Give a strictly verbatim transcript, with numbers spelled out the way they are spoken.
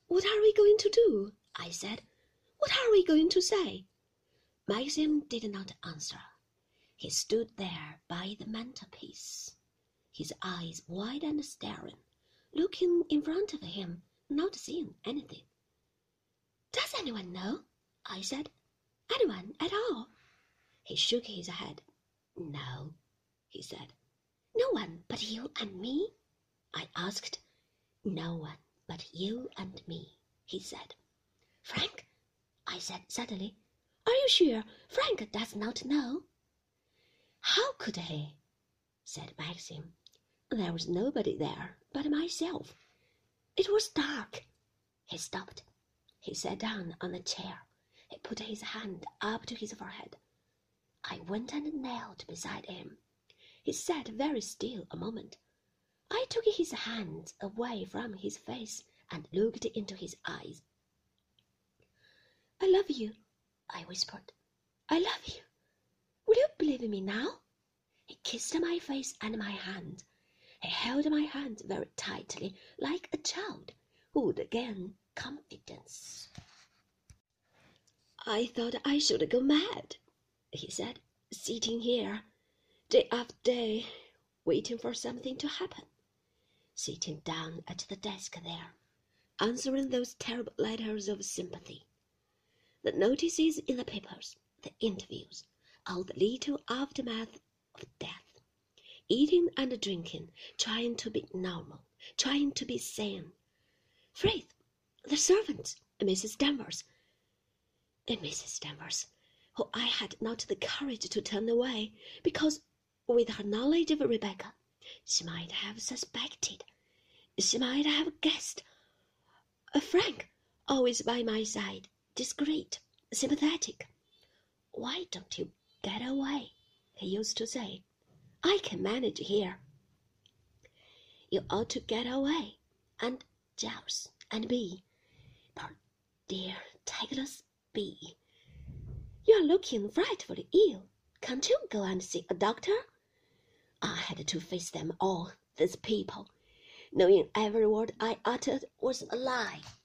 "What are we going to do?" I said. "What are we going to say?" Maxim did not answer. He stood there by the mantelpiece, his eyes wide and staring, looking in front of him, not seeing anything. "Does anyone know?" I said. "Anyone at all?" He shook his head. "No," he said. "No one but you and me?" I asked. "No one but you and me," he said. "Frank," I said suddenly, "are you sure Frank does not know?" "How could he?" said Maxim. "There was nobody there but myself. It was dark." He stopped. He sat down on a chair. He put his hand up to his forehead. I went and knelt beside him. He sat very still a moment. I took his hands away from his face and looked into his eyes. "I love you," I whispered. "I love you. Will you believe me now?" He kissed my face and my hand. He held my hand very tightly, like a child who would gain confidence. "I thought I should go mad," he said, "sitting here, day after day, waiting for something to happen, sitting down at the desk there, answering those terrible letters of sympathy, the notices in the papers, the interviews, all the little aftermath of death, eating and drinking, trying to be normal, trying to be sane. Frith, the servant, Missus Danvers, and Missus Danvers, who I had not the courage to turn away, because, with her knowledge of Rebecca, she might have suspected, she might have guessed. Frank, always by my side, discreet, sympathetic. 'Why don't you get away?' he used to say. 'I can manage here.' You ought to get away, and Giles, and Bee, poor dear tactless Bee. You are looking frightfully ill. Can't you go and see a doctor?' I had to face them all, these people, knowing every word I uttered was a lie.